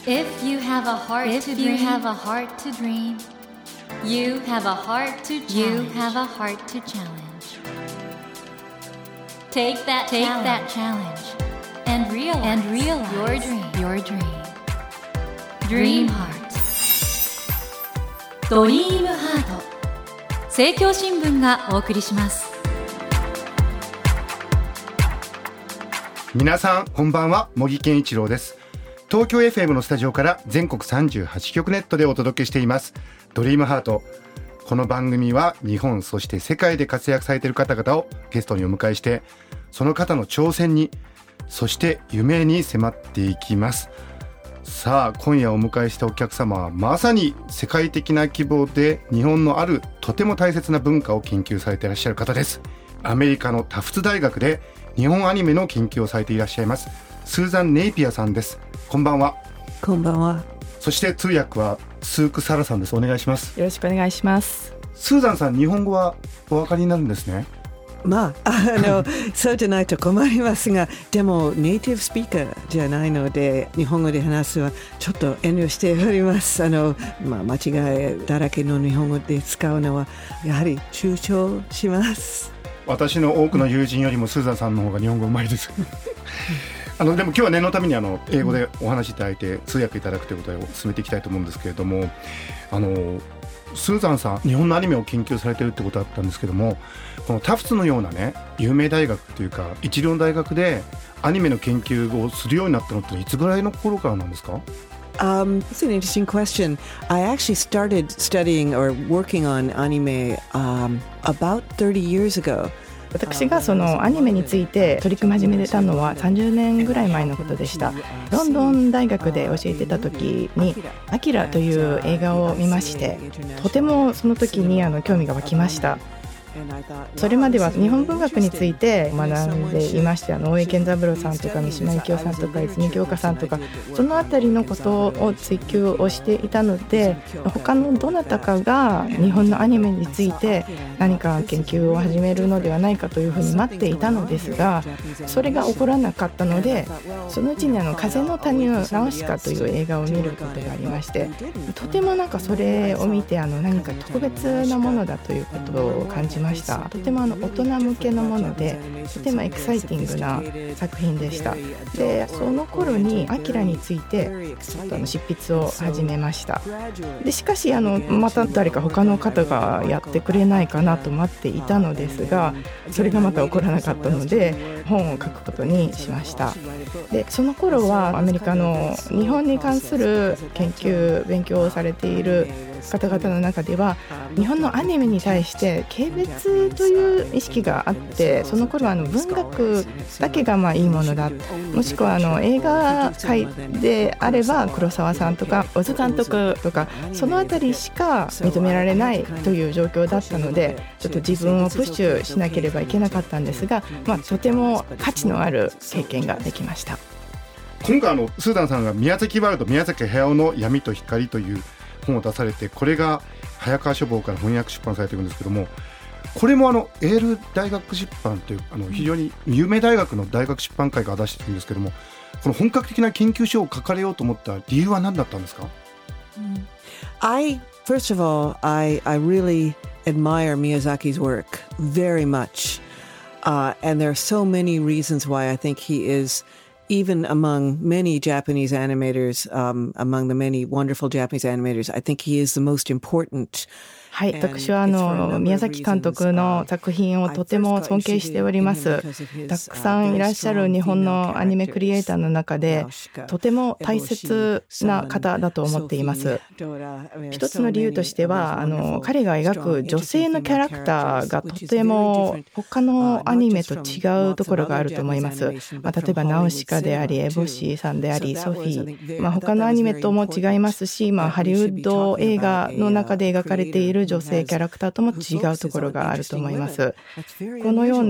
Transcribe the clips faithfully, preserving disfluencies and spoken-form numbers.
If you have a heart If to dream, you have a heart to dream, you have a heart to challenge. You have a heart to challenge. Take that Take challenge, that challenge and realize, and realize your dream. Your dream. Dream Heart. ドリームハート。政教新聞がお送りします。 皆さんこんばんは、茂木健一郎です。東京 エフエム のスタジオから全国さんじゅうはちきょくネットでお届けしていますドリームハート。この番組は日本そして世界で活躍されている方々をゲストにお迎えして、その方の挑戦にそして夢に迫っていきます。さあ今夜お迎えしたお客様はまさに世界的な規模で日本のあるとても大切な文化を研究されていらっしゃる方です。アメリカのタフツ大学で日本アニメの研究をされていらっしゃいますスーザン・ネイピアさんです。こんばんは。 こんばんは。 そして通訳はスーク・サラさんです。お願いします。 よろしくお願いします。 スーザンさん、日本語はお分かりになるんですね。 まあ、あのそうでないと困りますが、でもネイティブスピーカーじゃないので日本語で話すはちょっと遠慮しております。あの、まあ、間違いだらけの日本語で使うのはやはり躊躇します。 私の多くの友人よりもスーザンさんの方が日本語うまいですあのでも今日は念のためにあの英語でお話しいただいて通訳いただくということを進めていきたいと思うんですけれども、あのスーザンさん日本のアニメを研究されているってことだったんですけども、このタフツのようなね有名大学というか一流の大学でアニメの研究をするようになったのっていつぐらいの頃からなんですか ？Um, it's an interesting question. I actually started studying or working on anime um, about thirty years ago. 私がそのアニメについて取り組み始めたのはさんじゅうねんぐらい前のことでした。ロンドン大学で教えてた時にアキラという映画を見まして、とてもその時にあの興味が湧きました。それまでは日本文学について学んでいまして、あの大江健三郎さんとか三島由紀夫さんとか泉鏡花さんとかそのあたりのことを追求をしていたので、他のどなたかが日本のアニメについて何か研究を始めるのではないかというふうに待っていたのですが、それが起こらなかったので、そのうちにあの風の谷のナウシカという映画を見ることがありまして、とてもなんかそれを見てあの何か特別なものだということを感じました。とてもあの大人向けのもので、とてもエキサイティングな作品でした。で、その頃にアキラについてちょっとあの執筆を始めました。でしかしあのまた誰か他の方がやってくれないかなと待っていたのですが、それがまた起こらなかったので本を書くことにしました。でその頃はアメリカの日本に関する研究勉強をされている方々の中では日本のアニメに対して軽蔑という意識があって、その頃はあの文学だけがまあいいものだ、もしくはあの映画界であれば黒沢さんとか小津監督とかそのあたりしか認められないという状況だったので、ちょっと自分をプッシュしなければいけなかったんですが、まあ、とても価値のある経験ができました。 今回あのスーザンさんが宮崎ワールド宮崎駿の闇と光という本を出されて、これが早川書房から翻訳出版されているんですけども、これもあのエール大学出版というあの非常に有名大学の大学出版会が出しているんですけども、この本格的な研究書を書かれようと思った理由は何だったんですか？ I, first of all, I, I really admire Miyazaki's work very much. Uh, and there are so many reasons why I think he is, even among many Japanese animators, um, among the many wonderful Japanese animators, I think he is the most important. はい、私はあの宮崎監督の作品をとても尊敬しております。たくさんいらっしゃる日本のアニメクリエイターの中でとても大切な方だと思っています。一つの理由としてはあの彼が描く女性のキャラクターがとても他のアニメと違うところがあると思います。まあ、例えばナウシカでありエボシーさんでありソフィー、まあ、他のアニメとも違いますし、まあ、ハリウッド映画の中で描かれている女性キャラクターとも違うところがあると思います。このような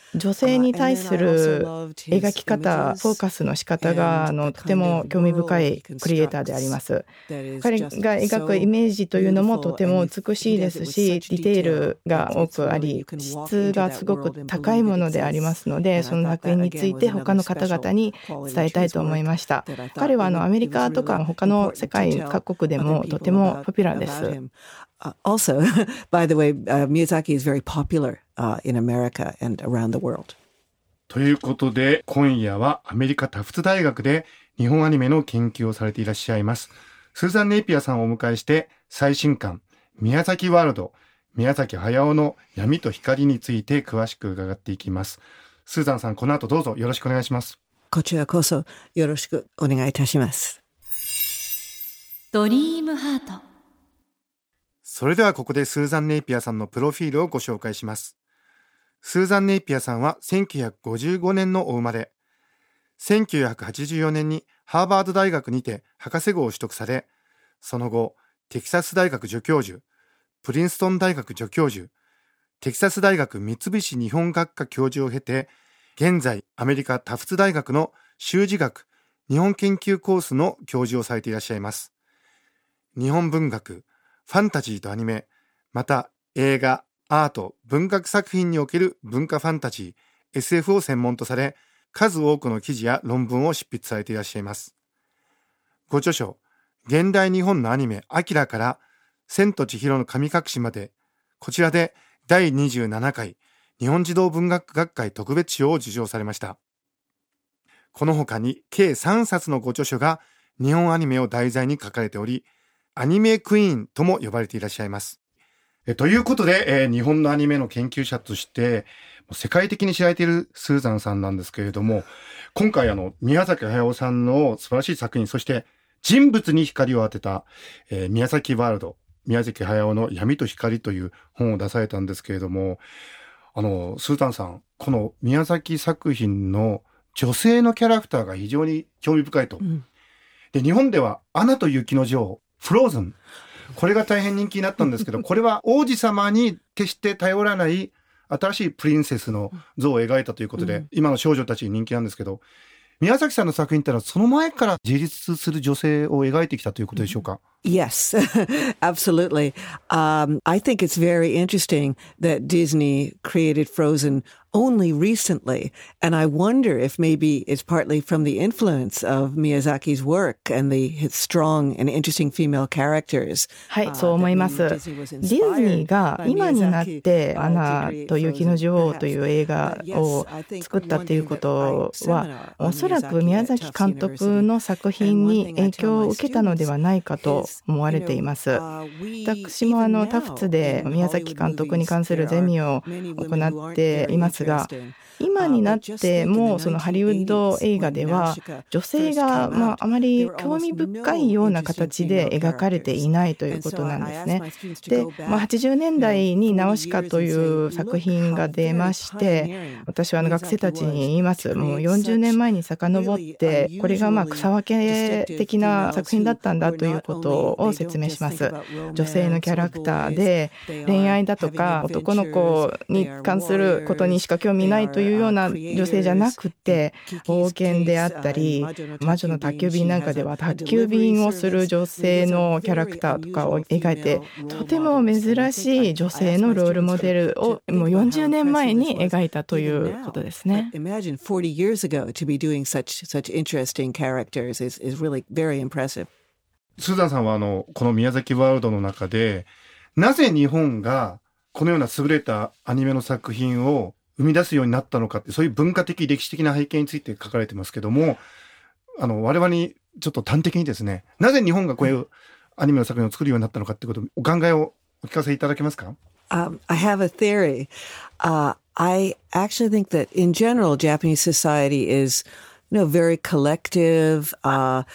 女性に対する描き方、フォーカスの仕方があのとても興味深いクリエイターであります。彼が描くイメージというのもとても美しいですし、ディテールが多くあり、質がすごく高いものでありますので、その作品について他の方々に伝えたいと思いました。彼はあのアメリカとか他の世界各国でもとてもポピュラーです。 Uh, also, by the way, uh, Miyazaki is very popular uh, in America and around the world. ということで、今夜はアメリカタフツ大学で日本アニメの研究をされていらっしゃいますスーザン・ネイピアさんをお迎えして、最新刊宮崎ワールド、宮崎駿の闇と光について詳しく伺っていきます。スーザンさん、この後どうぞよろしくお願いします。 こちらこそよろしくお願いいたします。 ドリームハート。 それではここでスーザン・ネイピアさんのプロフィールをご紹介します。スーザン・ネイピアさんはせんきゅうひゃくごじゅうごねんのお生まれ。せんきゅうひゃくはちじゅうよねんにハーバード大学にて博士号を取得され、その後、テキサス大学助教授、プリンストン大学助教授、テキサス大学三菱日本学科教授を経て、現在アメリカタフツ大学の修辞学日本研究コースの教授をされていらっしゃいます。日本文学、ファンタジーとアニメ、また映画、アート、文学作品における文化ファンタジー、エスエフ を専門とされ、数多くの記事や論文を執筆されていらっしゃいます。ご著書、現代日本のアニメ、アキラから千と千尋の神隠しまで、こちらでだいにじゅうななかい日本児童文学学会特別賞を受賞されました。この他に計さんさつのご著書が日本アニメを題材に書かれており、アニメクイーンとも呼ばれていらっしゃいます。えということで、えー、日本のアニメの研究者として世界的に知られているスーザンさんなんですけれども、今回あの宮崎駿さんの素晴らしい作品、そして人物に光を当てた、えー、宮崎ワールド、宮崎駿の闇と光という本を出されたんですけれども、あのスーザンさん、この宮崎作品の女性のキャラクターが非常に興味深いと、うん、で日本ではアナと雪の女王、フローズン、これが大変人気になったんですけど、これは王子様に決して頼らない新しいプリンセスの像を描いたということで、うん、今の少女たちに人気なんですけど、宮崎さんの作品ってのはその前から自立する女性を描いてきたということでしょうか？ Yes, absolutely. Um, I think it's very interesting that Disney created Frozen only recently, and I wonder if maybe it's partly from the influence of Miyazaki's work and the his strong and interesting female characters. はい、そう思います。ディズニーが今になってアナと雪の女王という映画を作ったっていうことは、おそらく宮崎監督の作品に影響を受けたのではないかと思われています。私もあのタフツで宮崎監督に関するゼミを行っていますが、今になってもそのハリウッド映画では女性がまああまり興味深いような形で描かれていないということなんですね。で、まあ、はちじゅうねんだいにナウシカという作品が出まして、私はあの学生たちに言います。もうよんじゅうねんまえに遡ってこれがまあ草分け的な作品だったんだということを説明します。女性のキャラクターで恋愛だとか男の子に関することにしか興味ないというような女性じゃなくて、冒険であったり魔女の宅急便なんかでは宅急便をする女性のキャラクターとかを描いて、とても珍しい女性のロールモデルをもうよんじゅうねんまえに描いたということですね。 Imagine forty years ago to be doing such such interesting characters is is really very impressive. スーザンさんはあのこの宮崎ワールドの中で、なぜ日本がこのような優れたアニメの作品を生み出すようになったのかって、そういう文化的歴史的な背景について書かれてますけども、あの我々にちょっと端的にですね、なぜ日本がこういうアニメの作品を作るようになったのかってこと、お考えをお聞かせいただけますか？ Um, I have a theory. Uh, I actually think that in general Japanese society is, you know, very collective, uh,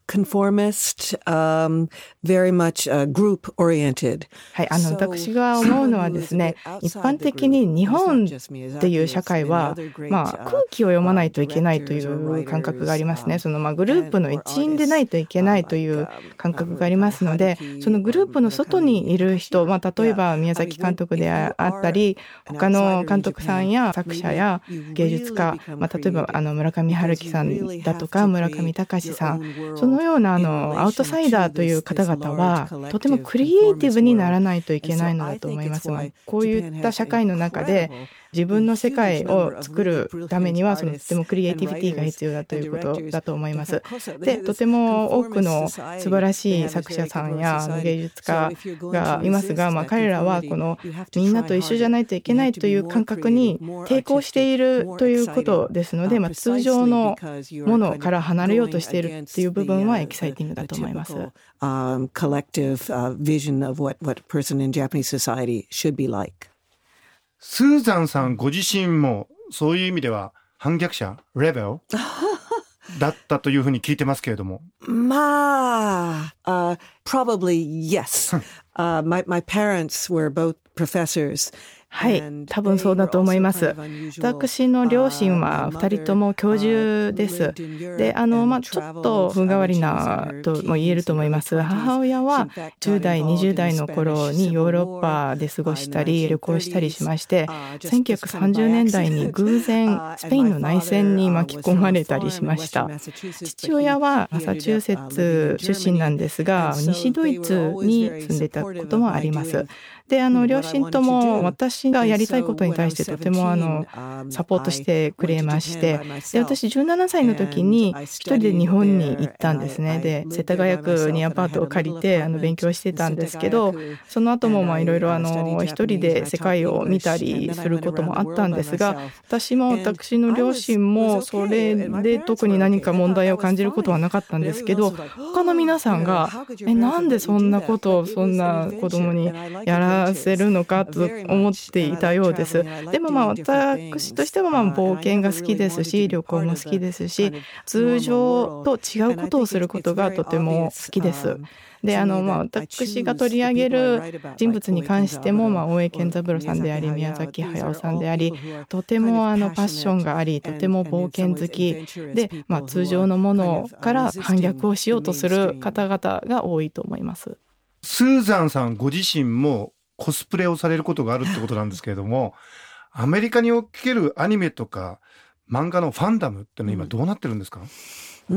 conformist, um, very much uh, group oriented. はい、あの私が思うのはですね、一般的に日本っていう社会は、まあ、空気を読まないといけないという感覚がありますね。そのまあグループの一員でないといけないという感覚がありますので、そのグループの外にいる人、まあ、例えば宮崎監督であったり、他の監督さんや作者や芸術家、まあ、例えばあの村上春樹さんだとか村上隆さん、そのようなあのアウトサイダーという方々はとてもクリエイティブにならないといけないのだと思います。こういった社会の中で自分の世界を作るためにはそのとてもクリエイティビティが必要だということだと思います。で、とても多くの素晴らしい作者さんや芸術家がいますが、まあ、彼らはこのみんなと一緒じゃないといけないという感覚に抵抗しているということですので、まあ、通常のものから離れようとしているっていう部分はエキサイティングだと思います。 Um, collective uh, vision of what, what a person in Japanese society should be like. スーザンさんご自身もそういう意味では反逆者レベルだったというふうに聞いてますけれども。 まあ、uh, probably yes. uh, my, my parents were both professors. はい、多分そうだと思います。私の両親はふたりとも教授です。で、あの、まあ、ちょっと風変わりなとも言えると思います。母親はじゅう代、にじゅう代の頃にヨーロッパで過ごしたり旅行したりしまして、せんきゅうひゃくさんじゅうねんだいに偶然スペインの内戦に巻き込まれたりしました。父親はマサチューセッツ出身なんですが、西ドイツに住んでいたこともあります。で、あの両親とも私がやりたいことに対してとてもあのサポートしてくれまして、で、私じゅうななさいの時に一人で日本に行ったんですね。で、世田谷区にアパートを借りてあの勉強してたんですけど、その後もまあいろいろあの一人で世界を見たりすることもあったんですが、私も私の両親もそれで特に何か問題を感じることはなかったんですけど、他の皆さんがえなんでそんなことをそんな子供にやらせるのかと思っていたようです。でもまあ私としてはまあ冒険が好きですし、旅行も好きですし、通常と違うことをすることがとても好きです。で、あのまあ私が取り上げる人物に関しても、まあ大江健三郎さんであり宮崎駿さんであり、とてもあのパッションがあり、とても冒険好きで、まあ通常のものから反逆をしようとする方々が多いと思います。 スーザンさんご自身もコスプレをされることがあるってことなんですけれども、アメリカにおけるアニメとか漫画のファンダムってのは今どうなってるんですか？ うん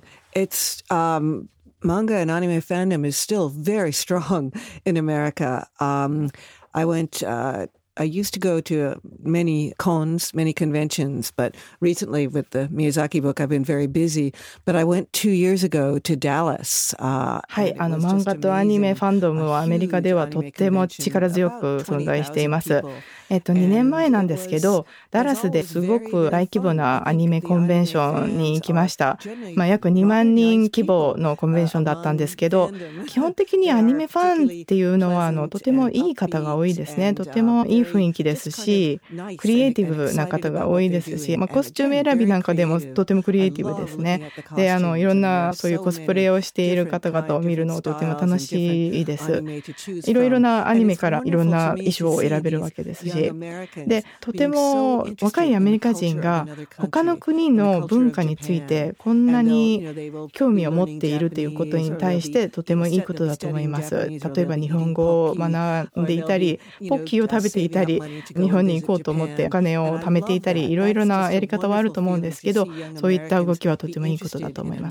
、It's um manga and anime fandom is still very strong in America. Um, I went, uh, I used to go to many cons, many conventions, but recently with the Miyazaki book, I've been very busy. But I went two years ago to Dallas. Uh, はい、あの漫画とアニメファンドムはアメリカではとっても力強く存在しています。えっと、にねんまえなんですけど、ダラスですごく大規模なアニメコンベンションに行きました。まあ、約にまんにん規模のコンベンションだったんですけど、基本的にアニメファンっていうのはあのとてもいい方が多いですね。とてもいい雰囲気ですし、クリエイティブな方が多いですし、まあ、コスチューム選びなんかでもとてもクリエイティブですね。で、あのいろんなそういうコスプレをしている方々を見るのとても楽しいです。いろいろなアニメからいろんな衣装を選べるわけですし、で、とても若いアメリカ人が他の国の文化についてこんなに興味を持っているということに対してとてもいいことだと思います。例えば日本語を学んでいたり、ポッキーを食べていたり、日本に行こうと思ってお金を貯めていたり、いろいろなやり方はあると思うんですけど、そういった動きはとてもいいことだと思います。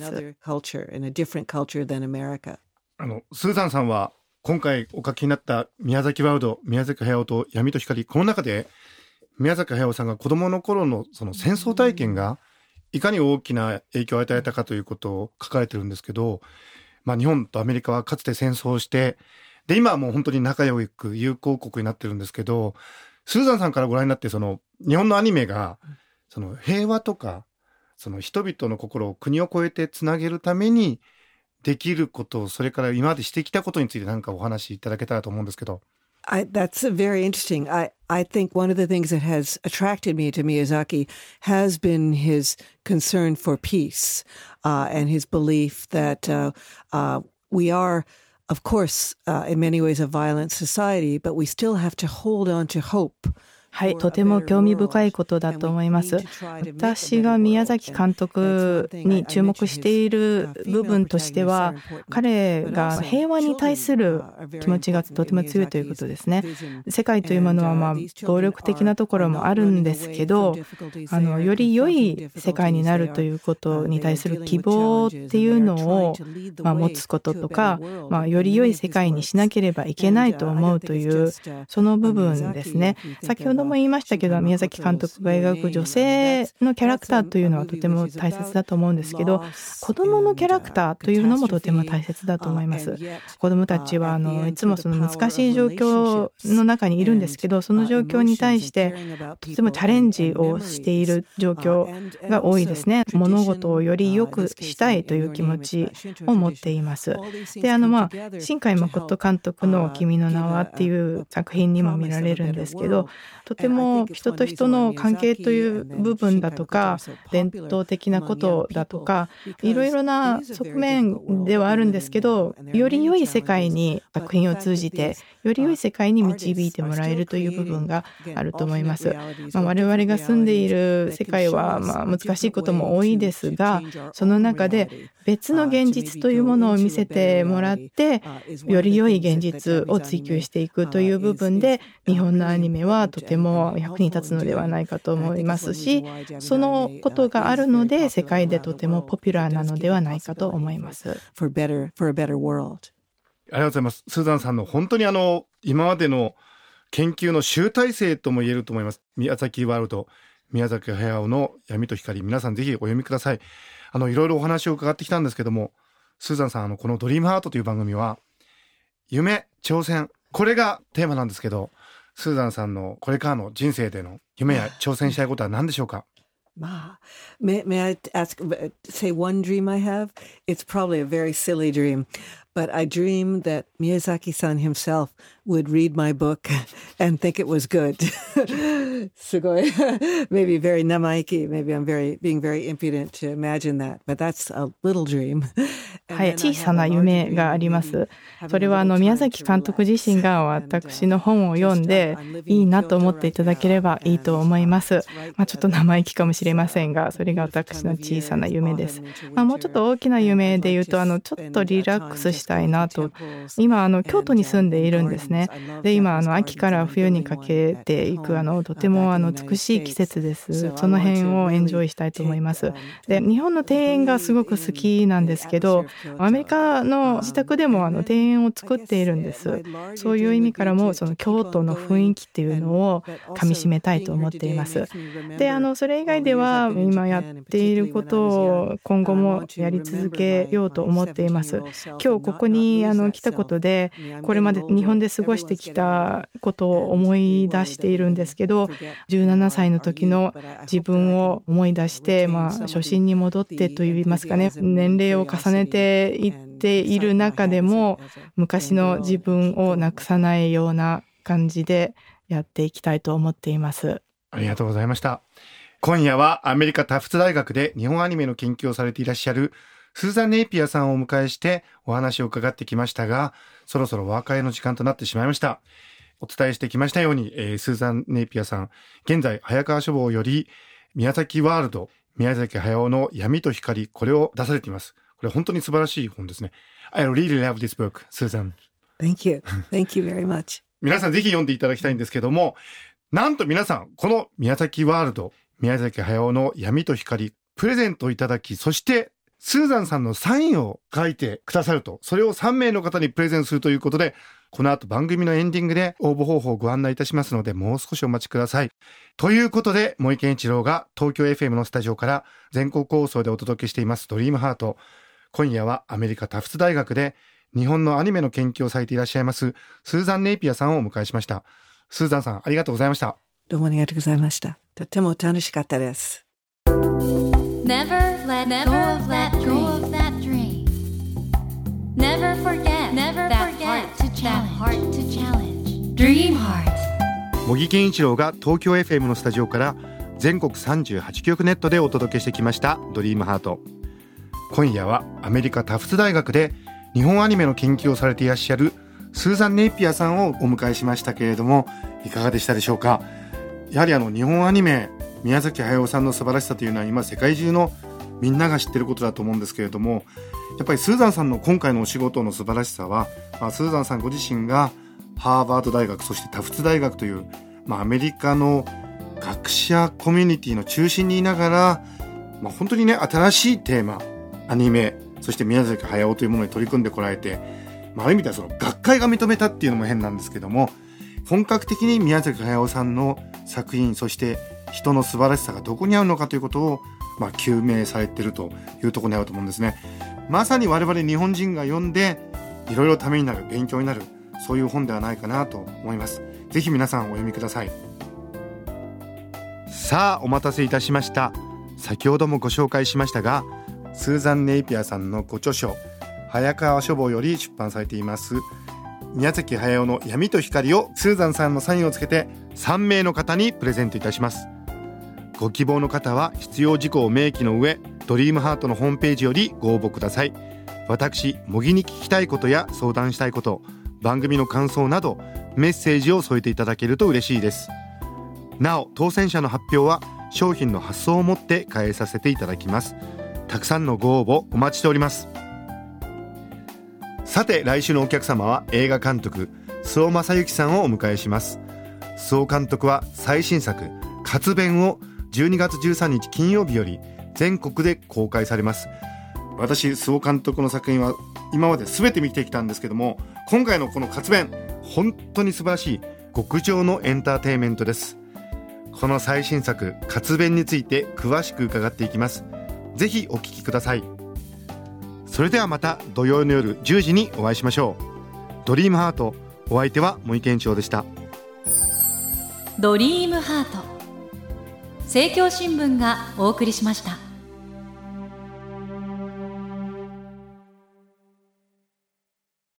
あのスーザンさんは今回お書きになった宮崎ワウド、宮崎駿と闇と光、この中で宮崎駿さんが子供の頃のその戦争体験がいかに大きな影響を与えたかということを書かれてるんですけど、まあ、日本とアメリカはかつて戦争をして、で今はもう本当に仲良く友好国になってるんですけど、スーザンさんからご覧になってその日本のアニメがその平和とかその人々の心を国を越えてつなげるためにできること、それから今までしてきたことについて何かお話しいただけたらと思うんですけど。 I, that's very interesting. I, I think one of the things that has attracted me to Miyazaki has been his concern for peace uh, and his belief that uh, uh, we are, of course, uh, in many ways a violent society, but we still have to hold on to hope. はい、とても興味深いことだと思います。私が宮崎監督に注目している部分としては、彼が平和に対する気持ちがとても強いということですね。世界というものはまあ暴力的なところもあるんですけど、あのより良い世界になるということに対する希望っていうのをまあ持つこととか、まあより良い世界にしなければいけないと思うというその部分ですね。先ほども言いましたけど、宮崎監督が描く女性のキャラクターというのはとても大切だと思うんですけど、子供のキャラクターというのもとても大切だと思います。子供たちはあのいつもその難しい状況の中にいるんですけど、その状況に対してとてもチャレンジをしている状況が多いですね。物事をより良くしたいという気持ちを持っています。で、あのまあ新海誠監督の君の名はっていう作品にも見られるんですけど、とても人と人の関係という部分だとか伝統的なことだとかいろいろな側面ではあるんですけど、より良い世界に作品を通じてより良い世界に導いてもらえるという部分があると思います。まあ、我々が住んでいる世界はまあ難しいことも多いですが、その中で別の現実というものを見せてもらってより良い現実を追求していくという部分で日本のアニメはとても役に立つのではないかと思いますし、そのことがあるので世界でとてもポピュラーなのではないかと思います。 For better, for a better world. ありがとうございます。スーザンさんの本当にあの今までの研究の集大成とも言えると思います。宮崎ワールド、宮崎駿の闇と光、皆さんぜひお読みください。あのいろいろお話を伺ってきたんですけども、スーザンさん、あのこのドリームハートという番組は夢、挑戦、これがテーマなんですけど、スーザンさんのこれからの人生での夢や挑戦したいことは何でしょうか？ Ma, may, may I ask, say one dream I have? It's probably a very silly dream, but I dream that Miyazaki-san himself would read my book and think it was good. すごい maybe very namaiki, maybe I'm very being very impudent to imagine that, but that's a little dream. はい、小さな夢があります。それはあの宮崎監督自身が私の本を読んでいいなと思っていただければいいと思います。まあ、ちょっと生意気かもしれませんが、それが私の小さな夢です。まあ、もうちょっと大きな夢で言うと、あのちょっとリラックスしたいなと。今あの京都に住んでいるんですね。で、今あの秋から冬にかけていくあのとてもあの美しい季節です。その辺をエンジョイしたいと思います。で、日本の庭園がすごく好きなんですけど、アメリカの自宅でもあの庭園を作っているんです。そういう意味からもその京都の雰囲気っていうのをかみしめたいと思っています。で、あのそれ以外では今やっていることを今後もやり続けようと思っています。今日ここにあの来たことで、これまで日本で過ごしてきたことを思い出しているんですけど、じゅうななさいの時の自分を思い出して、まあ初心に戻ってといいますかね、年齢を重ねていっている中でも昔の自分をなくさないような感じでやっていきたいと思っています。 ありがとうございました。今夜はアメリカタフツ大学で日本アニメの研究をされていらっしゃるスーザン・ネイピアさんをお迎えしてお話を伺ってきましたが、そろそろお別れの時間となってしまいました。お伝えしてきましたように、えー、スーザン・ネイピアさん、現在早川書房より宮崎ワールド、宮崎駿の闇と光、これを出されています。これ本当に素晴らしい本ですね。I really love this book, Susan. Thank you. Thank you very much. 皆さんぜひ読んでいただきたいんですけども、なんと皆さん、この宮崎ワールド、宮崎駿の闇と光、プレゼントをいただき、そしてスーザンさんのサインを書いてくださると、それをさんめいの方にプレゼントするということで、この後番組のエンディングで応募方法をご案内いたしますので、もう少しお待ちください。ということで、森健一郎が東京 エフエム のスタジオから全国放送でお届けしていますドリームハート。今夜はアメリカタフツ大学で日本のアニメの研究をされていらっしゃいますスーザン・ネイピアさんをお迎えしました。スーザンさん、ありがとうございました。 どうもありがとうございました。とても楽しかったです。 Never let go of that dream. Never forget that heart to challenge. Dream 茂木健一郎が東京 エフエム のスタジオから全国さんじゅうはちきょくネットでお届けしてきましたドリームハート。今夜はアメリカタフツ大学で日本アニメの研究をされていらっしゃるスーザン・ネイピアさんをお迎えしましたけれども、いかがでしたでしょうか。やはりあの日本アニメ、宮崎駿さんの素晴らしさというのは今世界中のみんなが知ってることだと思うんですけれども、やっぱりスーザンさんの今回のお仕事の素晴らしさは、まあ、スーザンさんご自身がハーバード大学、そしてタフツ大学という、まあ、アメリカの学者コミュニティの中心にいながら、まあ、本当にね新しいテーマ、アニメ、そして宮崎駿というものに取り組んでこられて、まあ、ある意味ではその学会が認めたっていうのも変なんですけども、本格的に宮崎駿さんの作品、そして人の素晴らしさがどこにあるのかということを、まあ、究明されているというところにあると思うんですね。まさに我々日本人が読んでいろいろためになる、勉強になる、そういう本ではないかなと思います。ぜひ皆さんお読みください。さあお待たせいたしました。先ほどもご紹介しましたが、スーザン・ネイピアさんのご著書、早川書房より出版されています宮崎駿の闇と光をスーザンさんのサインをつけてさんめいの方にプレゼントいたします。ご希望の方は必要事項を明記の上、ドリームハートのホームページよりご応募ください。私茂木に聞きたいことや相談したいこと、番組の感想などメッセージを添えていただけると嬉しいです。なお当選者の発表は商品の発送をもって返させていただきます。たくさんのご応募お待ちしております。さて来週のお客様は映画監督周防正行さんをお迎えします。周防監督は最新作活弁をじゅうにがつじゅうさんにち金曜日より全国で公開されます。私周防監督の作品は今まで全て見てきたんですけども、今回のこの活弁本当に素晴らしい極上のエンターテインメントです。この最新作活弁について詳しく伺っていきます。ぜひお聞きください。それではまた土曜の夜じゅうじにお会いしましょう。ドリームハート、お相手は森健一郎でした。 ドリームハート、政教新聞がお送りしました。